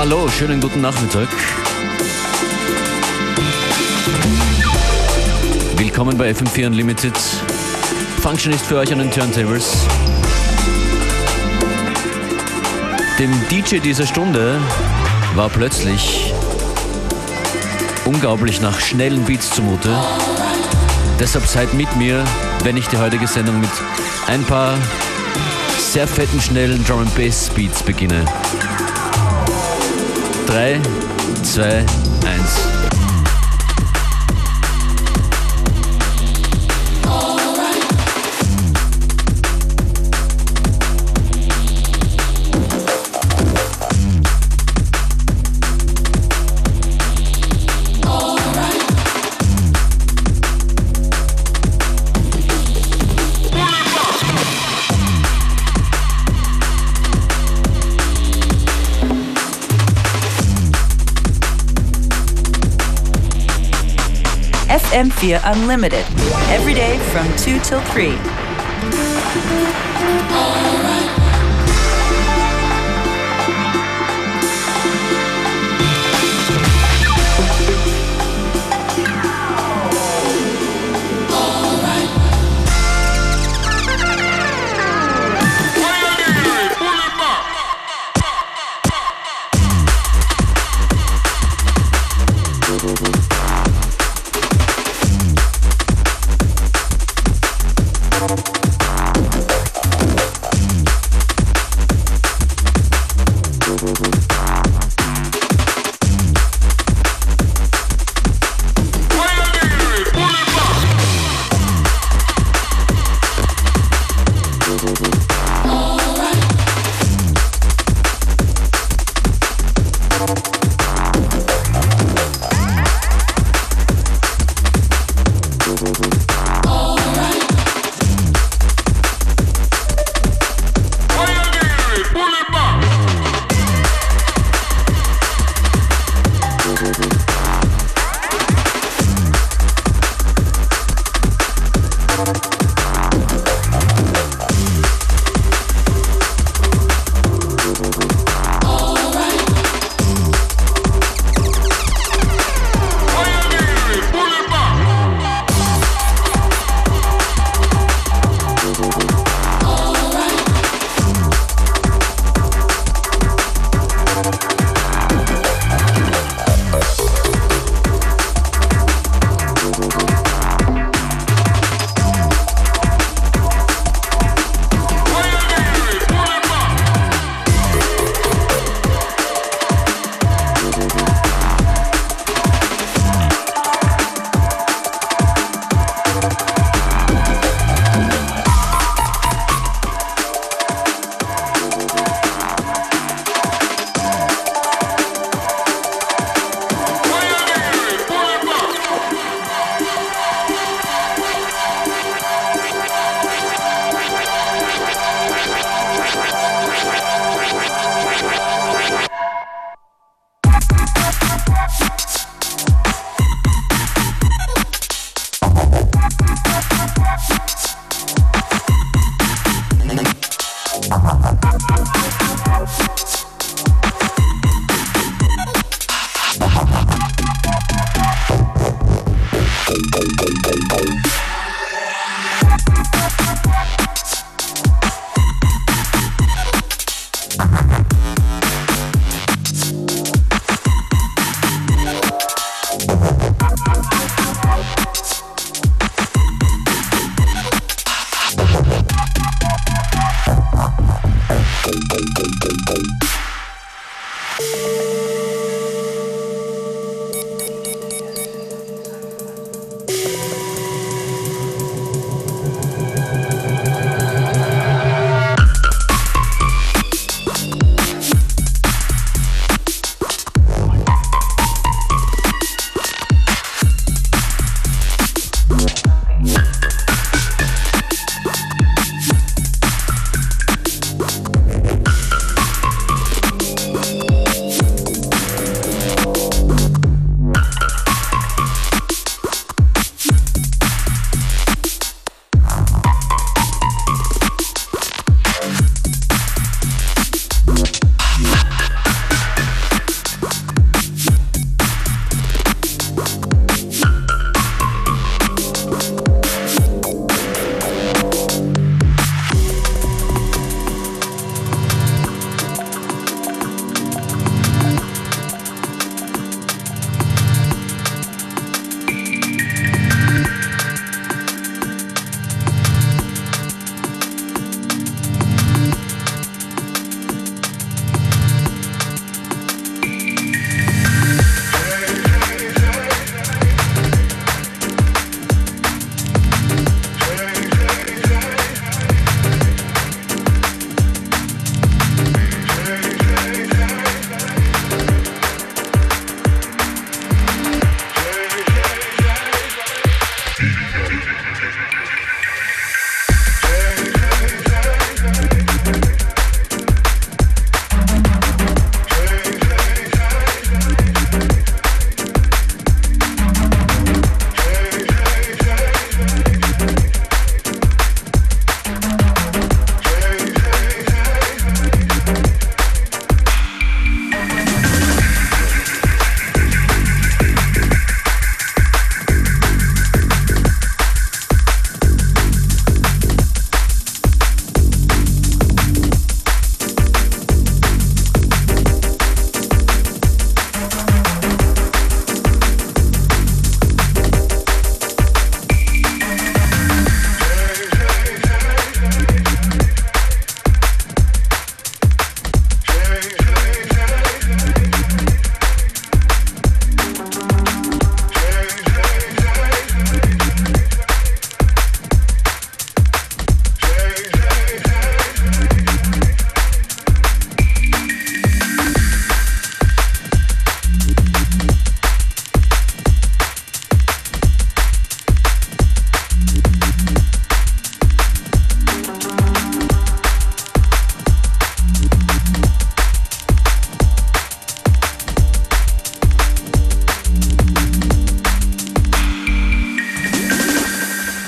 Hallo, schönen guten Nachmittag. Willkommen bei FM4 Unlimited. Function ist für euch an den Turntables. Dem DJ dieser Stunde war plötzlich unglaublich nach schnellen Beats zumute. Deshalb seid mit mir, wenn ich die heutige Sendung mit ein paar sehr fetten, schnellen Drum and Bass Beats beginne. 3, 2, 1. FM4 Unlimited, every day from 2 till 3.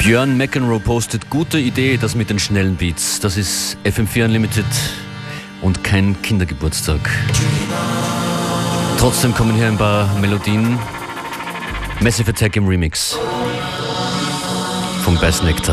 Björn McEnroe postet, gute Idee, das mit den schnellen Beats. Das ist FM4 Unlimited und kein Kindergeburtstag. Trotzdem kommen hier ein paar Melodien. Massive Attack im Remix von Bass Nectar.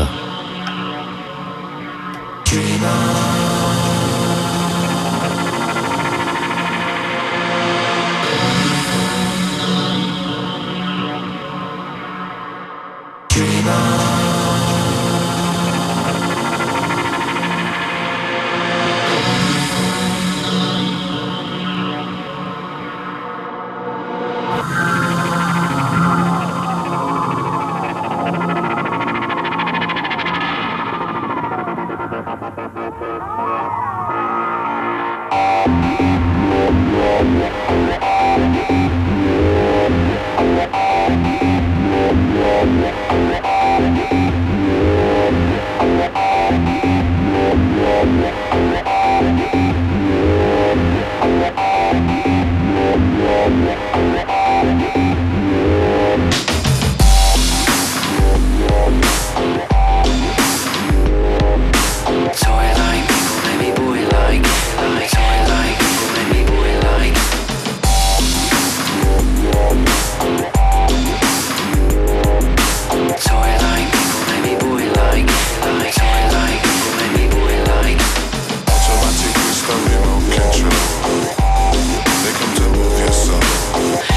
Automatic crystal remote control. They come to move your soul.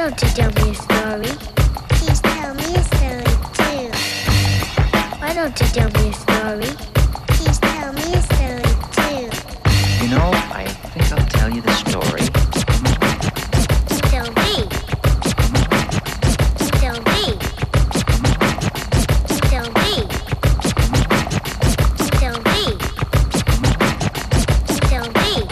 don't you tell me a story? Please tell me a story too. Why don't you tell me a story? Please tell me a story too. You know, I think I'll tell you the story. Tell me. Tell me. Tell me. Tell me. Tell me.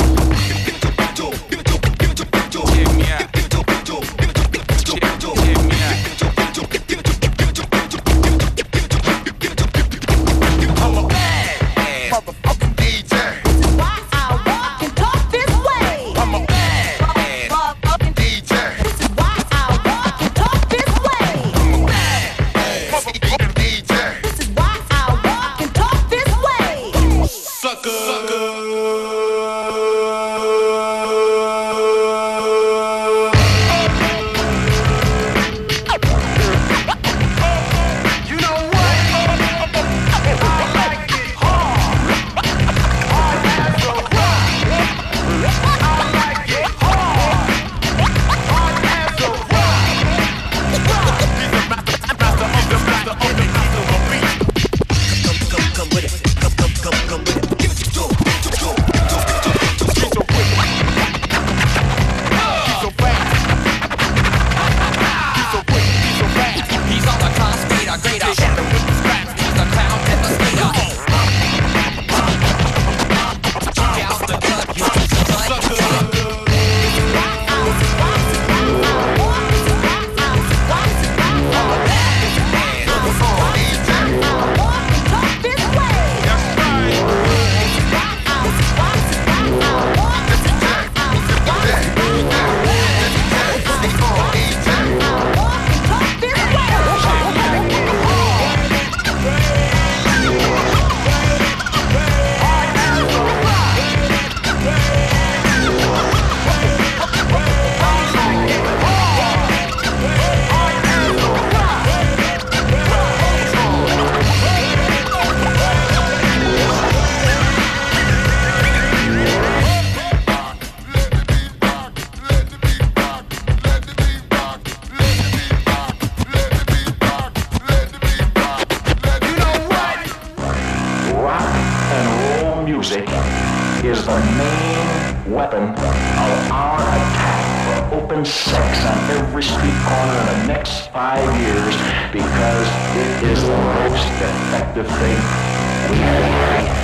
Is the main weapon of our attack for open sex on every street corner in the next 5 years because it is the most effective thing we have.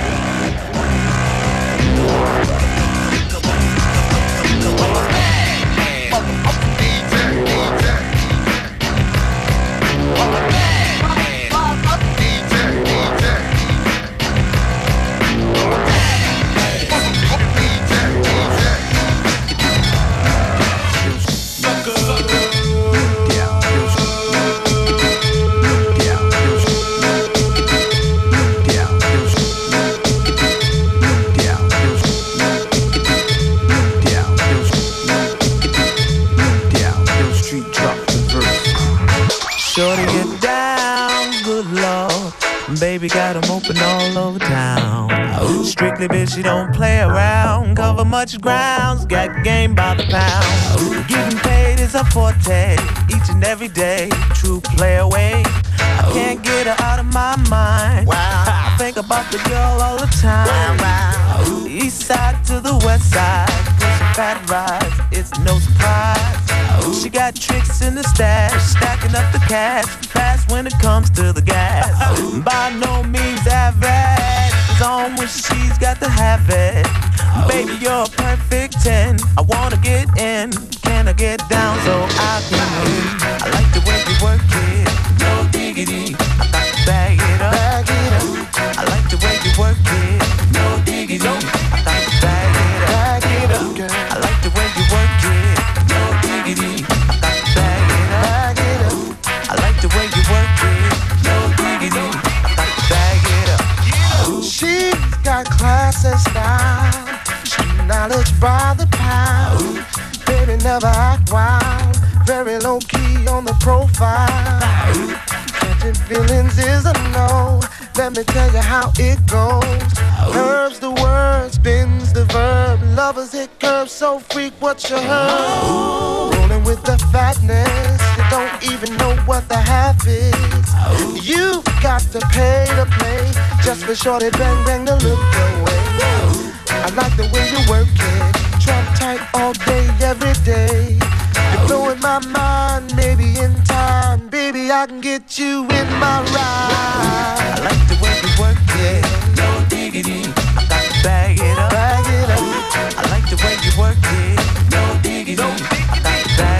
Shorty get down, good lord. Baby got 'em open all over town. Strictly bitch, she don't play around. Cover much grounds, got game by the pound. Getting paid is a forte, each and every day. True play away, I can't get her out of my mind. I think about the girl all the time. East side to the west side, pushing fat rides, it's no surprise. She got tricks in the stash, stacking up the cash, fast when it comes to the gas. By no means average, it's on when she's got to have it. Baby, you're a perfect 10, I wanna get in. Can I get down so I can win? I like the way you work it, no diggity. I got to bag it up, I like the way you work it, no diggity. I got to bag it up, I like the way you work it, no diggity. I got to bag it up, I like the way you work it, no diggity. I got to bag it up. She's got class and style, knowledge by the pound. Baby never act wild, very low key on the profile. Catching feelings is a no, let me tell you how it goes. Curves the word, spins the verb, lovers hit curves so freak what you heard. Rolling with the fatness, what the half is. You got to pay to play just for shorty bang bang to look your way. I like the way you work it, trump tight all day, every day. You're blowing my mind, maybe in time, baby I can get you in my ride. I like the way you work it, no diggity. I got to bag it up, bag it up. I like the way you work it, no diggity. I got to bag it up.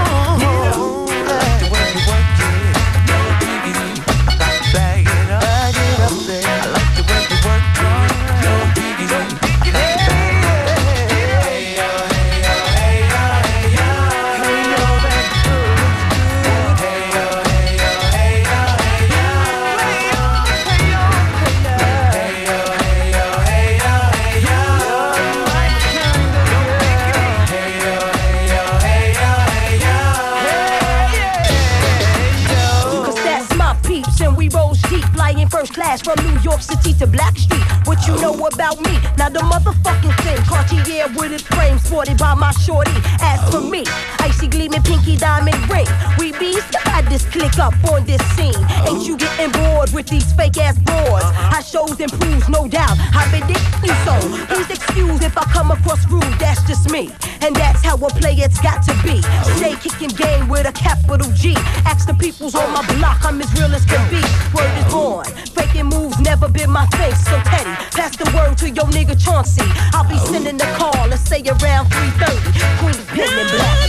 First class from New York City to Blackstreet. What you know about me? Now the motherfucking thing. Cartier with its frame sported by my shorty. As for me, icy gleaming pinky diamond ring. We bees got this click up on this scene. Ain't you getting bored with these fake ass broads? I shows and proves, no doubt. I've been you so. Please excuse if I come across rude. That's just me, and that's how a player's got to be. Stay kicking game with a capital G. Ask the peoples on my block, I'm as real as can be. Word is born. Faking moves never been my face, so petty. Pass the word to your nigga Chauncey. I'll be sending the call, let's say around 3:30. Queen Pen and Black.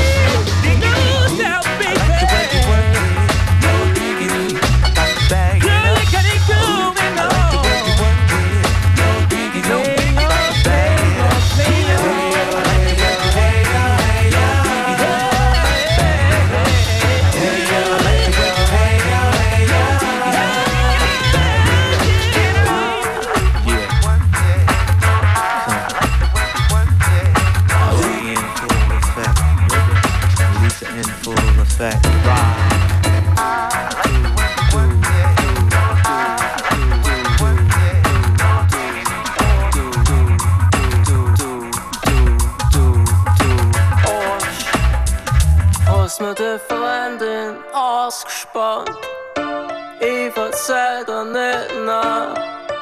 Mit der Freundin ausgespannt, ich verzeih dir nicht nach.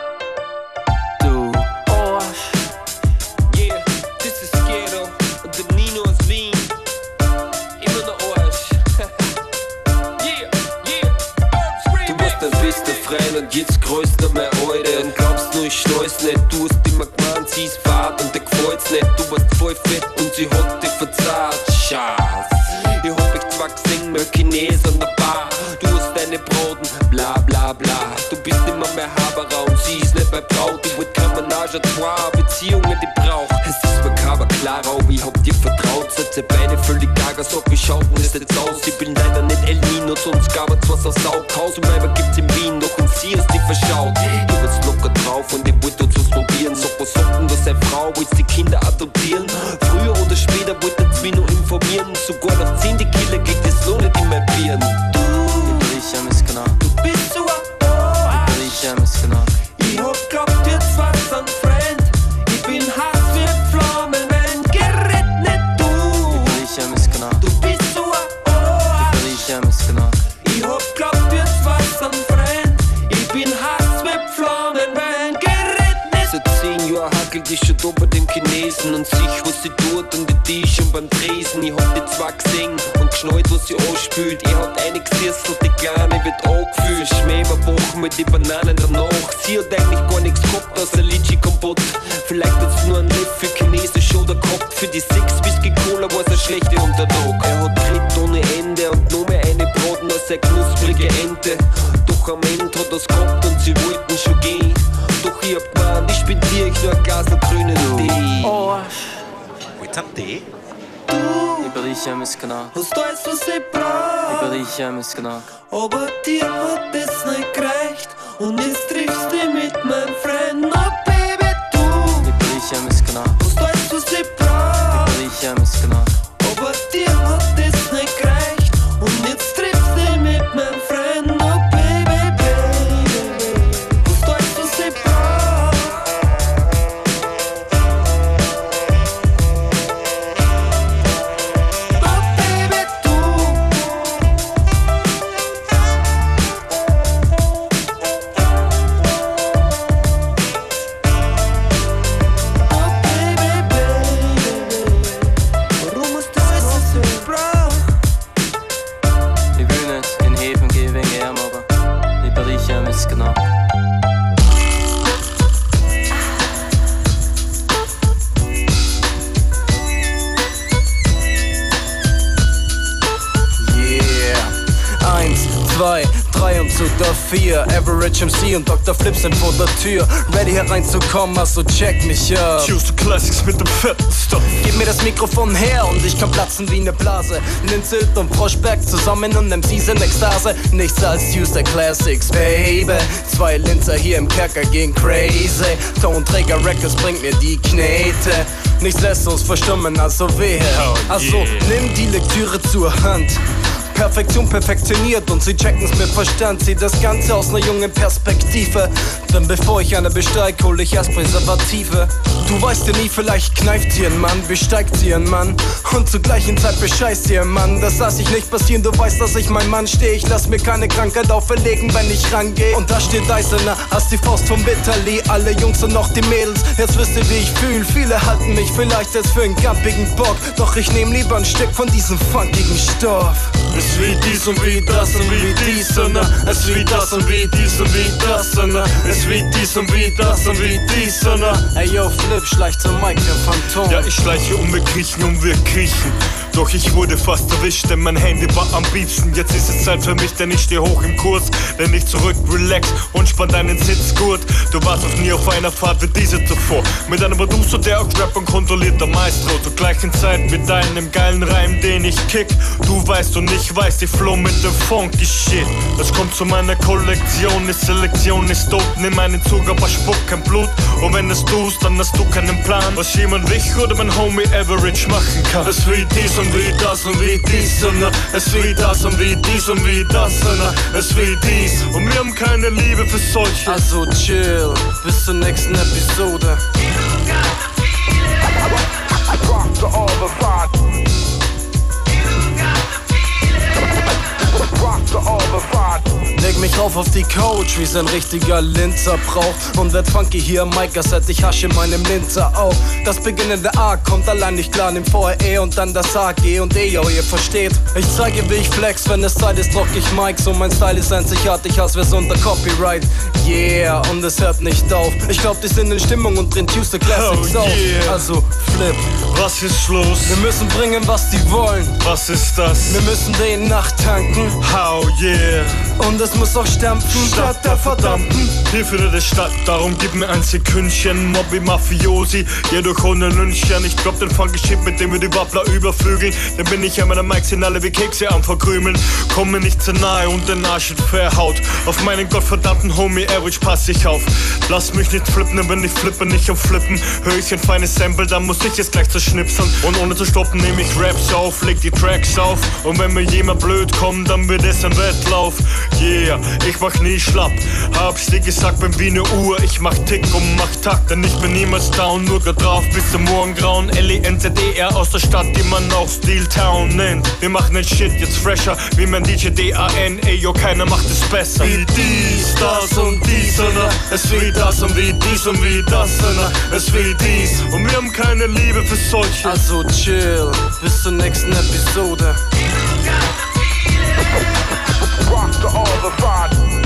Du Arsch. Yeah, this is Ghetto und der Nino aus Wien. Immer der Arsch. Yeah, yeah. Du warst der beste Freund und jetzt grüßt er mein Alter. Und glaubst nur, ich schnall's nicht. Du hast immer gemeint, sie ist fad und dir gefällt's nicht. Du warst voll fett und sie hat dich verzahrt. Schatz. Ich hab mich zwar gesehen, mit Chines an der Bar. Du hast deine Broten, bla bla bla. Du bist immer mehr Haberer und sie ist nicht mehr Braut. Ich wollt kein Menage à trois, Beziehungen die braucht. Es ist makaber, klar, aber ich hab dir vertraut. Setze Beine völlig gaga, sag wie schaut denn das jetzt aus? Ich bin leider nicht El Nino, sonst gab es was aus Haus und Weiber gibt's in Wien, doch und sie ist die verschaut. Du warst locker drauf und ich wollte uns was probieren. Sag was sagt denn das, seine Frau, willst die Kinder adoptieren? Früher oder später wollte uns mich noch informieren. Sogar nach 10 die Killer geht es so nicht in mein Bieren. Du bist so ein Arsch. Ich hab glaubt, jetzt war's ein Freund. Ich bin Hass wie Flammen, wenn gerät nicht du. Du bist so ein Arsch. Ich hab glaubt, jetzt war's ein Freund. Ich bin Hass wie Flammen, wenn gerät nicht. Seit 10 Jahren hackelt ich schon da bei dem Chinesen und sich, was sie tut und die ist schon beim Tresen. Ich hab die zwar gesehen und geschnallt, was sie anspült. Ich hat eine gesisselt, die Kleine wird angefühlt. Schmäh überbachen mit die Bananen danach. Sie hat eigentlich gar nichts gehabt, außer Litschi-Kompott. Vielleicht hat's nur ein Löffel Chinesisch oder gehabt. Für die 6 Whisky-Cola war's eine schlechte Untertag. Er hat Tritt ohne Ende und nur mehr eine Braten als eine knusprige Ente. Doch am Ende hat er's gehabt und sie wollten schon gehen. Doch ich hab gemeint, ich spendier euch nur ein Glas grünen Tee. Willst du einen Tee? Hast alles, was ich brauch. Aber dir hat es nicht gereicht. Und jetzt triffst du mit meinem Freund. Oh Baby, du. Hast alles, was ich brauch. Aber dir hat es nicht gereicht. Und jetzt triffst du mit meinem Freund. Oh Baby, baby. Hast alles, was ich brauch. Oh Baby, du. zu dafür. Average MC und Dr. Flip sind vor der Tür. Ready hereinzukommen, also check mich ab. Choose the Classics mit dem fetten Stuff. Gib mir das Mikrofon her und ich kann platzen wie ne Blase. Linzelt und Froschberg zusammen und MCs in Ekstase. Nichts als Use the Classics, baby. 2 Linzer hier im Kerker gehen crazy. Tonträger Records bringt mir die Knete. Nichts lässt uns verstummen, also wehe. Also nimm die Lektüre zur Hand. Perfektion perfektioniert und sie checken's mit Verstand. Sieh das Ganze aus ner jungen Perspektive. Denn bevor ich eine besteig, hol ich erst Präservative. Du weißt ja nie, vielleicht kneift sie ein Mann, besteigt sie ein Mann und zur gleichen Zeit bescheißt sie ein Mann. Das lass ich nicht passieren, du weißt, dass ich mein Mann steh. Ich lass mir keine Krankheit auferlegen, wenn ich rangeh. Und da steht Eisener, hast die Faust vom Bitterli. Alle Jungs und noch die Mädels, jetzt wisst ihr, wie ich fühl. Viele halten mich vielleicht jetzt für einen gampigen Bock, doch ich nehm lieber ein Stück von diesem funkigen Stoff. Es wie dies und wie das und wie dies und es wie das und wie dies und wie das und es wie dies und wie das und wie dies und Ey yo, Flip, schleicht zum Mike, der Phantom. Ja, ich schleiche wir kriechen. Doch ich wurde fast erwischt, denn mein Handy war am liebsten. Jetzt ist es Zeit für mich, denn ich steh hoch im Kurs. Denn ich zurück, relax und spann deinen Sitzgurt. Du warst noch nie auf einer Fahrt wie diese zuvor. Mit einem Producer, der auch Rap und kontrollierter Maestro. Zur gleichen Zeit mit deinem geilen Reim, den ich kick. Du weißt und ich weiß, die Flow mit dem funky Shit. Das kommt zu meiner Kollektion, die Selektion ist tot. Nimm einen Zug, aber spuck kein Blut. Und wenn es tust, dann hast du keinen Plan, was jemand wie ich oder mein Homie Average machen kann. Es wie dies und wie das und wie dies und es wie das und wie dies und wie das und es wie dies. Und wir haben keine Liebe für solche. Also chill, bis zur nächsten Episode. Rock to all the fun. Rock to all the fun. Leg mich rauf auf die Couch, wie's ein richtiger Linzer braucht. Und werd funky hier am Mic, als hätte ich Hasch in meinem Linzer auch. Das beginnende A kommt allein nicht klar, nimm vorher E und dann das A, G und E, yo, ihr versteht. Ich zeige, wie ich flex, wenn es Zeit ist, rock ich Mics. Und mein Style ist einzigartig, als wär's unter Copyright. Yeah, und es hört nicht auf. Ich glaub, die sind in Stimmung und drin Tuesday Classics auf. Also, Flip. Was ist los? Wir müssen bringen, was die wollen. Was ist das? Wir müssen den nachtanken. How yeah. Und es muss auch stampfen, statt der verdammten. Hier findet es statt, darum gib mir ein Sekündchen. Mobby Mafiosi, jedoch ohne Lynchchen. Ich glaub den funky Shit, mit dem wir die Wappler überflügeln. Dann bin ich an meiner Mics, sind alle wie Kekse am Verkrümeln. Komm mir nicht zu nahe und den Arsch in verhaut. Auf meinen gottverdammten Homie Average pass ich auf. Lass mich nicht flippen, denn wenn ich flippe, nicht am Flippen. Hör ich ein feines Sample, dann muss ich es gleich zerschnipseln. Und ohne zu stoppen nehm ich Raps auf, leg die Tracks auf. Und wenn mir jemand blöd kommt, dann wird es ein Wettlauf. Yeah, ich mach nie schlapp. Hab's dir gesagt, bin wie ne Uhr. Ich mach Tick und mach Takt, denn ich bin niemals down. Nur grad drauf bis zum Morgengrauen. L-E-N-Z-D-R aus der Stadt, die man auch Steel Town nennt. Wir machen den Shit jetzt fresher, wie mein DJ D-A-N. Ey, yo, keiner macht es besser. Wie dies, das und dies, und es wie das und wie dies und wie das, und es wie dies. Und wir haben keine Liebe für solche. Also chill, bis zur nächsten Episode. Rock to all the fun.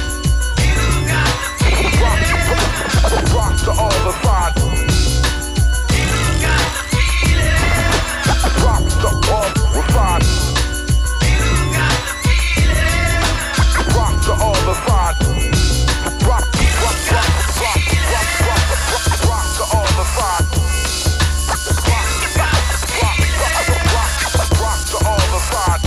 Rock to all the fun. Rock to all the fun. Rock to all the fun. Rock to all the fun. Rock to all the fun.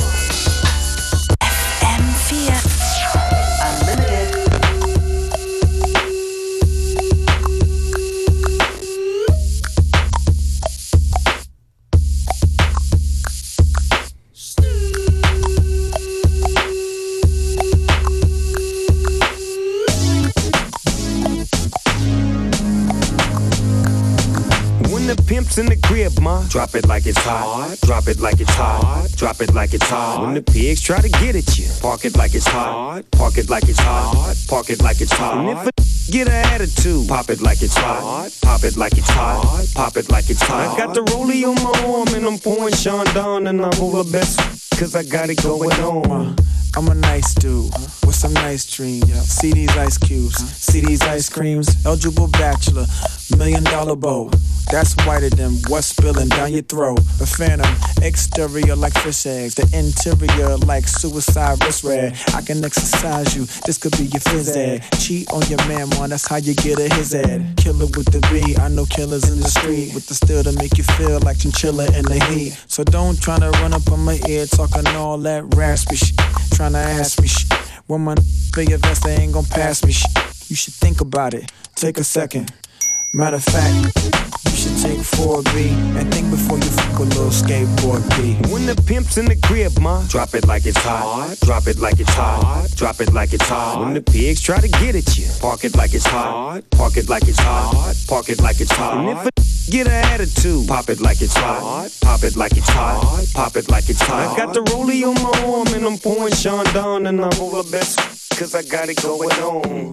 Pimps in the crib, ma. Drop it like it's hot. Drop it like it's hot. Drop it like it's hot. When the pigs try to get at you, park it like it's hot. Park it like it's hot. Park it like it's hot. And if a get an attitude, pop it like it's hot. Pop it like it's hot. Pop it like it's hot. I got the rollie on my arm and I'm pouring Sean down and I'm over best cause I got it going on. I'm a nice dude with some nice dreams. See these ice cubes, see these ice creams. Eligible bachelor, $1 million boat. That's whiter than what's spilling down your throat. The phantom, exterior like fish eggs, the interior like suicide wrist red. I can exercise you, this could be your phys ed. Cheat on your man, man, that's how you get a his ed. Killer with the B, I know killers in the street with the steel to make you feel like chinchilla in the heat. So don't try to run up on my ear talking all that raspy shit, trying to ask me shit. When my for your vest, they ain't gon' pass me shit. You should think about it, take a second. Matter of fact, you should take 4B and think before you fuck a little skateboard B. When the pimp's in the crib, ma, drop it like it's hot. Drop it like it's hot. Drop it like it's hot. When the pigs try to get at you, park it like it's hot. Park it like it's hot. Park it like it's hot. And if a get an attitude, pop it like it's hot. Pop it like it's hot. Pop it like it's hot. I got the rollie on my arm and I'm pouring Sean down and I'm over best cause I got it going on.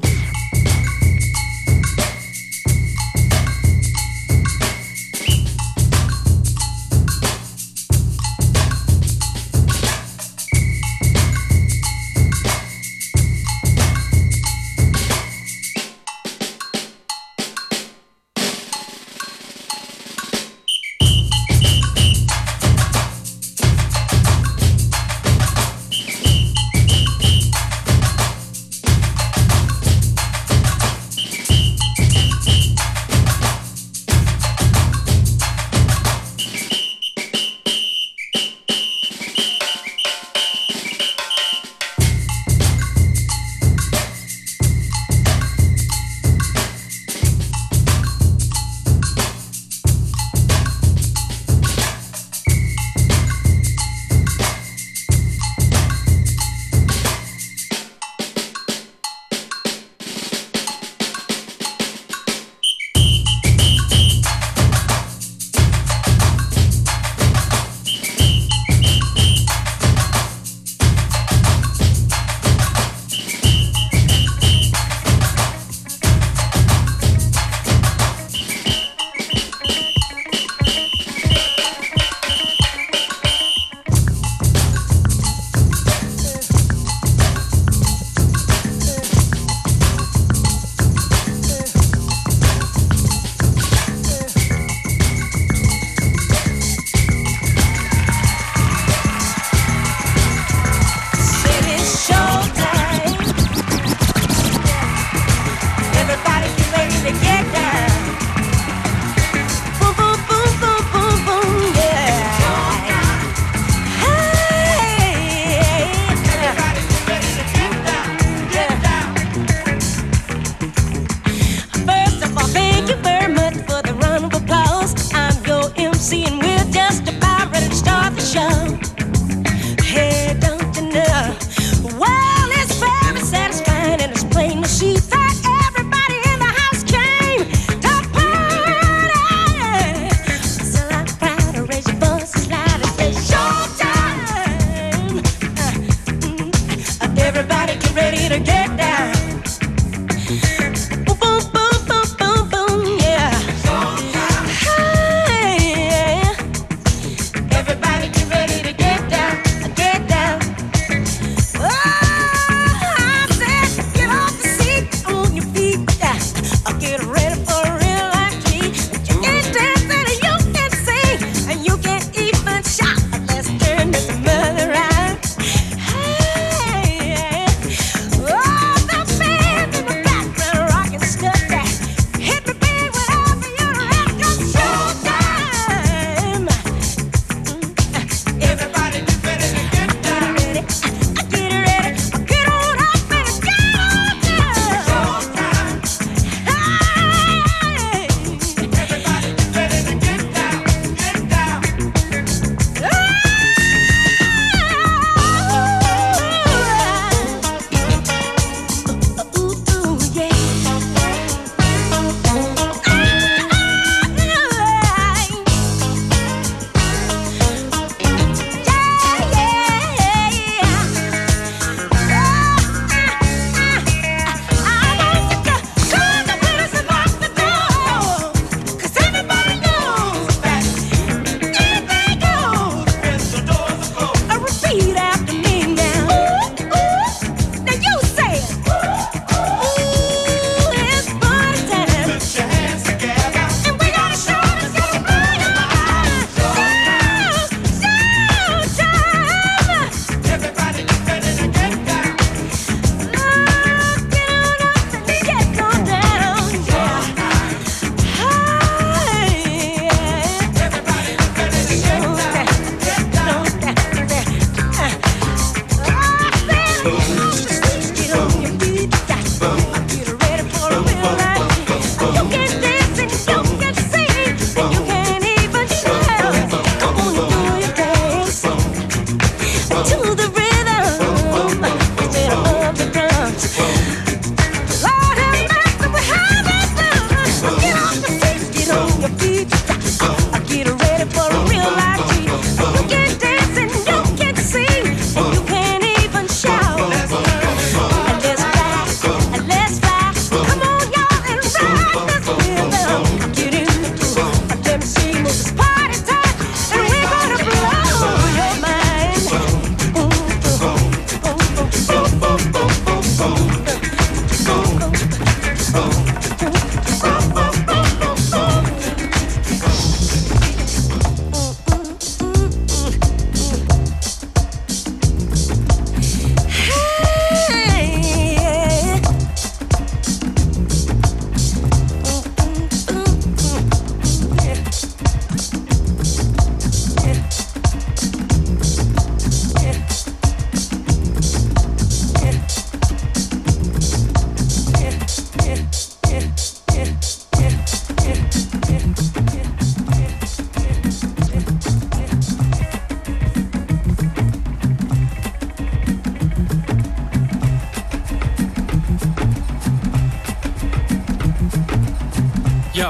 Yo,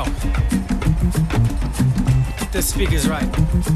this speaker's right.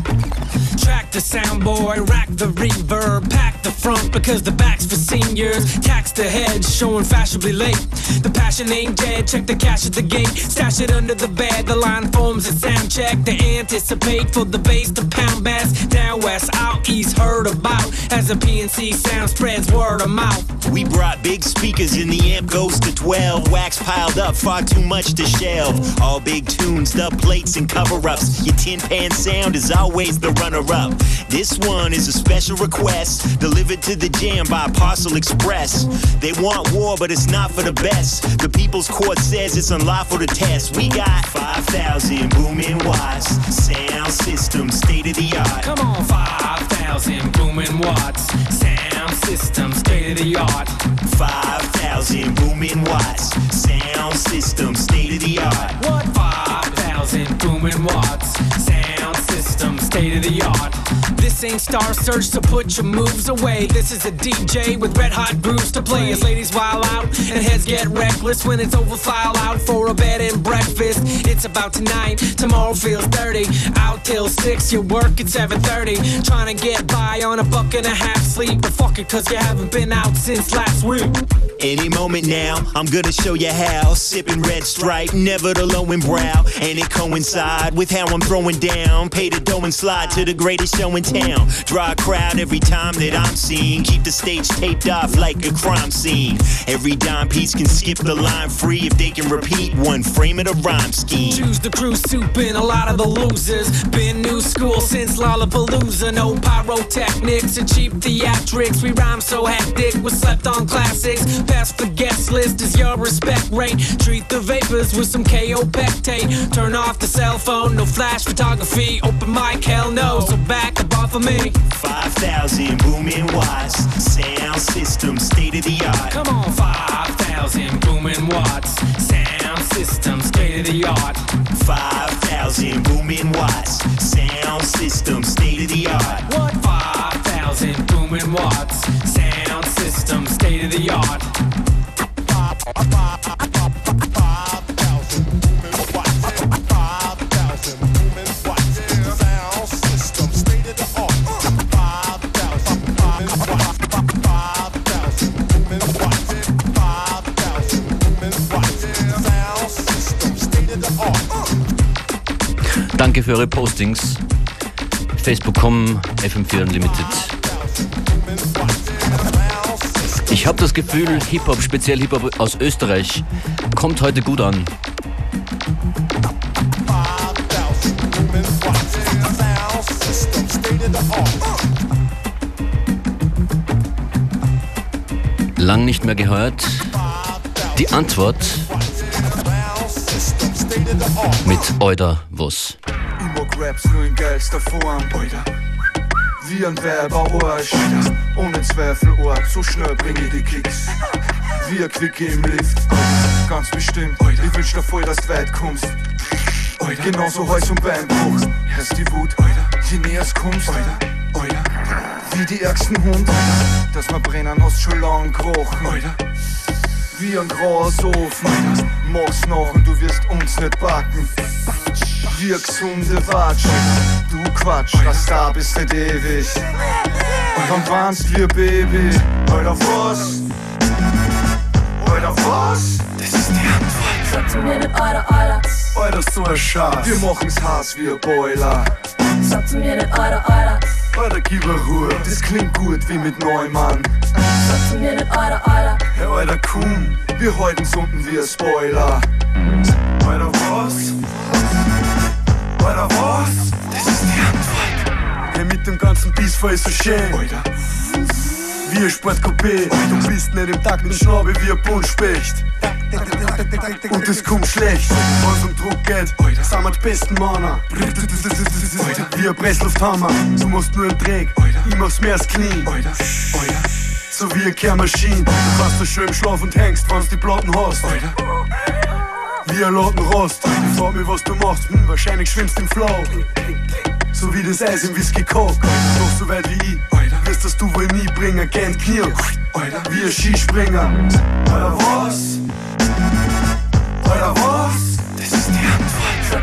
Track the soundboard, rack the reverb, pack the front because the back's for seniors. Tax the head, showing fashionably late. The passion ain't dead, check the cash at the gate. Stash it under the bed, the line forms a sound check. They anticipate for the bass to pound bass. Down west, out east, heard about as the PNC sound spreads word of mouth. We brought big speakers and the amp goes to 12. Wax piled up, far too much to shelve. All big tunes, dub plates and cover-ups. Your tin pan sound is always the runner-up. This one is a special request, delivered to the jam by Parcel Express. They want war, but it's not for the best. The People's Court says it's unlawful to test. We got 5,000 booming watts, sound system, state of the art. Come on, 5,000 booming watts, sound system, state of the art. 5,000 booming watts, sound system, state of the art. What? 5,000 booming watts, sound system, state of the art. This ain't Star Search, so put your moves away. This is a DJ with red hot grooves to play. As ladies wild out and heads get reckless when it's over, file out for a bed and breakfast. It's about tonight, tomorrow feels dirty. Out till 6, you work at 7:30. Trying to get by on $1.50 sleep, but fuck it, cause you haven't been out since last week. Any moment now, I'm gonna show you how. Sipping Red Stripe, never the lowing brow. And it coincide with how I'm throwing down. Pay the dough and slide to the greatest show in town. Draw a crowd every time that I'm seen. Keep the stage taped off like a crime scene. Every dime piece can skip the line free if they can repeat one frame of the rhyme scheme. Choose the crew soup and a lot of the losers. Been new school since Lollapalooza. No pyrotechnics and cheap theatrics. We rhyme so hectic with slept on classics. Pass the guest list is your respect rate. Treat the vapors with some KO Pectate. Turn off the cell phone, no flash photography. Open mic, hell no, so back up off of me. 5,000 booming watts, sound system, state of the art. Come on, 5,000 booming watts, sound system, state of the art. 5,000 booming watts, sound system, state of the art. What? 5,000 booming watts, sound system, state of the art. 5,000 Danke für eure Postings. Facebook.com FM4 Unlimited. Ich habe das Gefühl, Hip-Hop, speziell Hip-Hop aus Österreich, kommt heute gut an. Lang nicht mehr gehört. Die Antwort mit Oida was. Ich mag Raps nur in geilster Form, Oida. Wie ein Werberarsch, ohne Zweifel Ort, so schnell bring ich die Kicks. Wie ein Quickie im Lift, ganz bestimmt. Ich wünsch dir voll, dass du weit kommst. Genauso Hals- und Beinbruch, hörst die Wut, je näher es kommst. Wie die ärgsten Hund, dass wir brennen, hast schon lang gerochen. Wie ein Grasofen, mach's nach und du wirst uns nicht backen. Wie eine gesunde Watsch, du Quatsch, dass da bist nicht ewig. Dann warnst wie ein Baby, Alter was? Alter was? Das ist die Antwort. Sag zu mir nicht Alter, Alter. Alter, so ein Schatz. Wir machen's heiß wie ein Boiler. Sag zu mir nicht Alter, Alter. Alter, gib mir Ruhe, das klingt gut wie mit Neumann. Sag zu mir nicht Alter, Alter. Hey, Alter, komm, wir halten's unten wie ein Spoiler. Alter, was? Alter, was? Das ist die Antwort. Hey, mit dem ganzen Biss voll so schön. Alter. Wie ein Sportcoupé. Du bist nicht im Takt mit Schnabel wie ein Buntspecht. Und es kommt schlecht, wenn's um Druck geht, sind wir die besten Männer. Wie ein Presslufthammer, du machst nur einen Dreck, ich mach's mehr als clean. So wie eine Kehrmaschine, du kannst da schön im Schlaf und hängst, wenn's die Platten hast. Wie ein Lattenrost, ich frag mich, was du machst, wahrscheinlich schwimmst im Flow. So wie das Eis im Whisky Coke, doch so weit wie ich, wirst das du wohl nie bringen, gern Knie, wie ein Skispringer. Alter, was? Alter, was? Das ist die Antwort.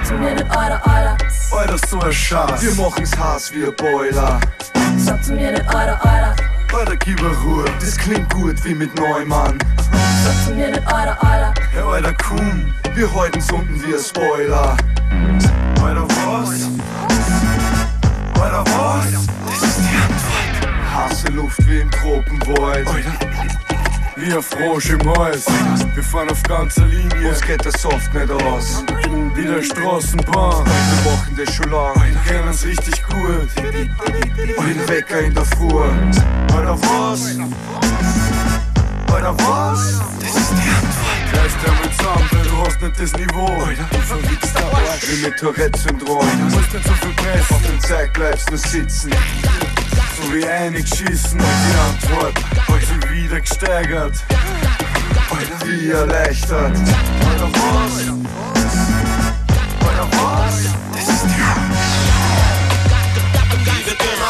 zu mir nicht Alter, Alter. Alter, so ein Schatz. Wir machen's heiß wie ein Boiler. Sag zu mir nicht Alter, Alter. Alter, gib a Ruhe, das klingt gut wie mit Neumann. Sag zu mir nicht Alter, Alter. Hey, Alter, komm, wir halten's unten wie ein Spoiler. Alter, was? Alter, was? Das ist die Antwort. Heiße Luft wie im Tropenwald. Alter. Wie ein Frosch im Hals. Wir fahren auf ganzer Linie, uns geht der Soft nicht aus. Wie der Straßenbahn. Wir machen das schon lang, kennen uns richtig gut. Wie ein Wecker in der Früh. Alter, was? Alter, was? Das ist die Antwort. Reiß dir mit zusammen, weil du hast nicht das Niveau. Du verwichst der Arsch wie mit Tourette-Syndrom. Du musst nicht so viel pressen, auf dem Zeug bleibst nur sitzen. So wie einig schießen. Die Antwort hat sich wieder gesteigert. Alter, wie erleichtert. Alter, was? Alter, was? Das ist die Antwort. Liebe Döner.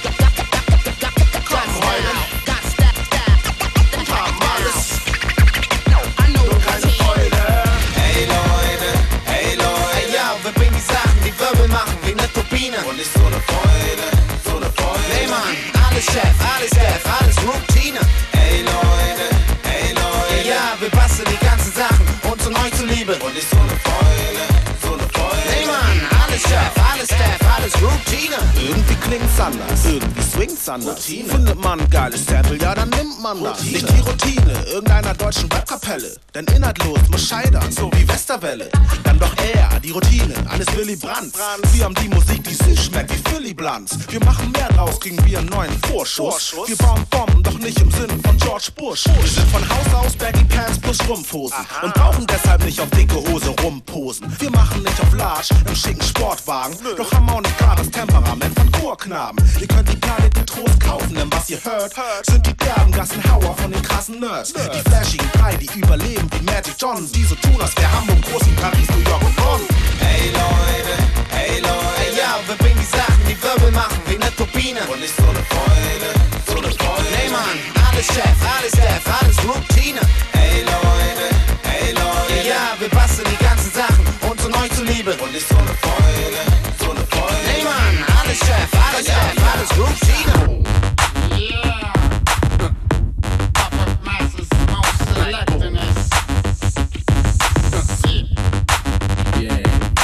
Komm heute. Und haben alles. Nur keine Freude. Hey Leute, ja, wir bringen die Sachen, die Wirbel machen wie eine Turbine. Und nicht so eine Freude. Hey Mann, alles Chef, alles Def, alles Routine. Hey Leute, ja, wir basteln die ganzen Sachen, uns und euch zu lieben. Und nicht so eine Freude. Hey Mann, alles Chef, alles Def, alles Routine. Irgendwie klingt's anders, irgendwie swingt's anders. Findet man ein geiles Sample, ja dann nimmt man das. Nicht die Routine irgendeiner deutschen Webkapelle, denn inhaltlos muss scheitern, so wie Westerwelle. Dann doch eher die Routine eines Willy Brandt. Wir haben die Musik, die süß schmeckt wie Philly Blunts. Wir machen mehr draus, kriegen wir einen neuen Vorschuss. Wir bauen Bomben, doch nicht im Sinne von George Bush. Wir sind von Haus aus Baggy Pants plus Strumpfhosen und brauchen deshalb nicht auf dicke Hose rumposen. Wir machen nicht auf Large im schicken Sportwagen, doch haben auch nicht gar das Temperament von Chorknaben. Ihr könnt die Planet mit Trost kaufen, denn was ihr hört, sind die derben Gassenhauer von den krassen Nerds. Die flashigen drei, die überleben wie Magic Johnson, die so tun, als wär Hamburg groß wie Paris, New York und Bonn. Hey Leute, ja, wir bringen die Sachen, die Wirbel machen wie eine Turbine. Und nicht so eine Freude. Hey Mann, alles Chef, alles Def, alles Routine. Hey Leute, ja, wir basteln die ganzen Sachen, uns und euch zu lieben. Und nicht so eine Freude. Hey Mann, alles Chef, alles Def, alles Routine. Yeah. Puppet Masters most selecting us. Yeah.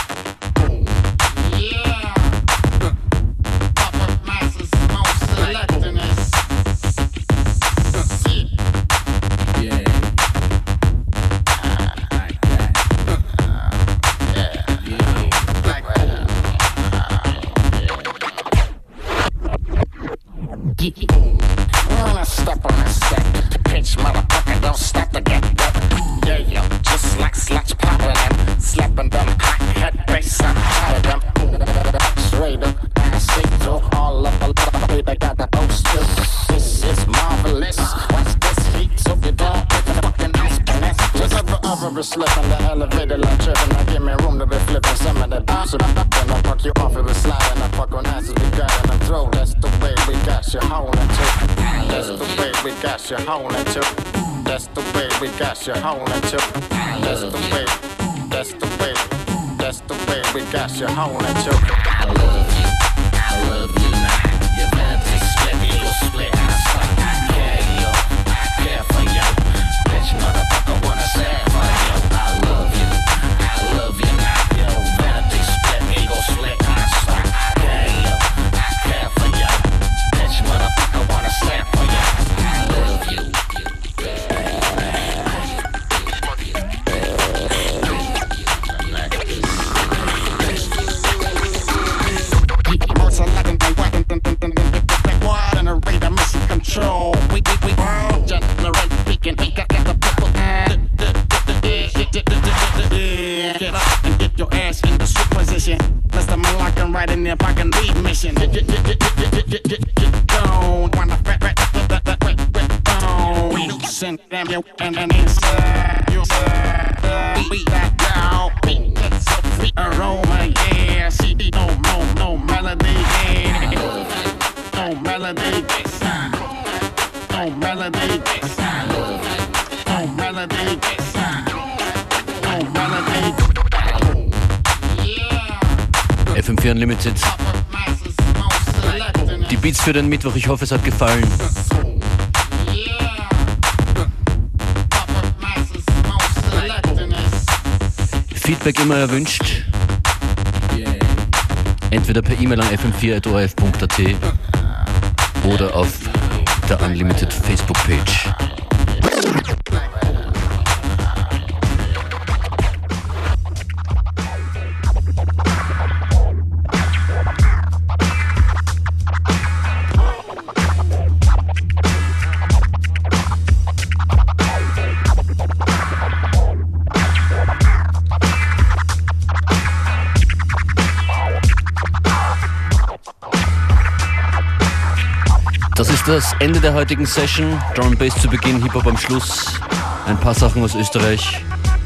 Puppet Masters most selecting us. Yeah. Like that. Like that. When I step on that set, pitch motherfucker don't stop to get wet. Yeah, yo, just like sluts popping them, slapping them hot head bass, I'm tired of them. Straight up, I see through all of the baby got the posters. This is marvelous. Watch this heat, so you don't get the fucking ice finesse. Just ever slipping the elevator like tripping. Now give me room to be flipping some of that bounce. Then I fuck you off if it's sliding. I fuck on asses we got in the throat. That's the way we got you holding to. That's the way we got you holding to. That's the way we got you holding to. That's the way, that's the way, that's the way we got you holding to. I love you now. Your vanity split, me go split. I care you, I care for you. Bitch, motherfucker, wanna say for you. I love you now. Your vanity split, me go split. I care you, I care for you. Bitch, motherfucker, wanna say for you. I love you. Control. We generate speaking. We got the people. Get up and get your ass in the sweet position. Let's the man locking right in there. Fucking lead mission. Get gone. Wanna bone. Loosen them you and inside. You we got down. It's so free aroma. Yeah. See no melody. Yeah. No melody. No melody, no melody, no melody. Yeah. FM4 Unlimited. Die Beats für den Mittwoch, ich hoffe, es hat gefallen. Feedback immer erwünscht. Entweder per E-Mail an fm4@orf.at oder auf der Unlimited Facebook-Page. Das ist das Ende der heutigen Session. Drum and Bass zu Beginn, Hip-Hop am Schluss. Ein paar Sachen aus Österreich.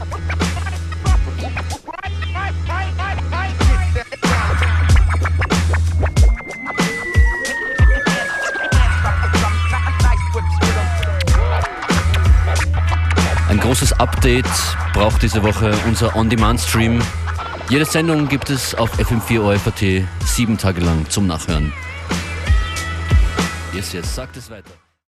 Ein großes Update braucht diese Woche unser On-Demand-Stream. Jede Sendung gibt es auf FM4 ORF.at 7 Tage lang zum Nachhören. Yes, sagt es weiter.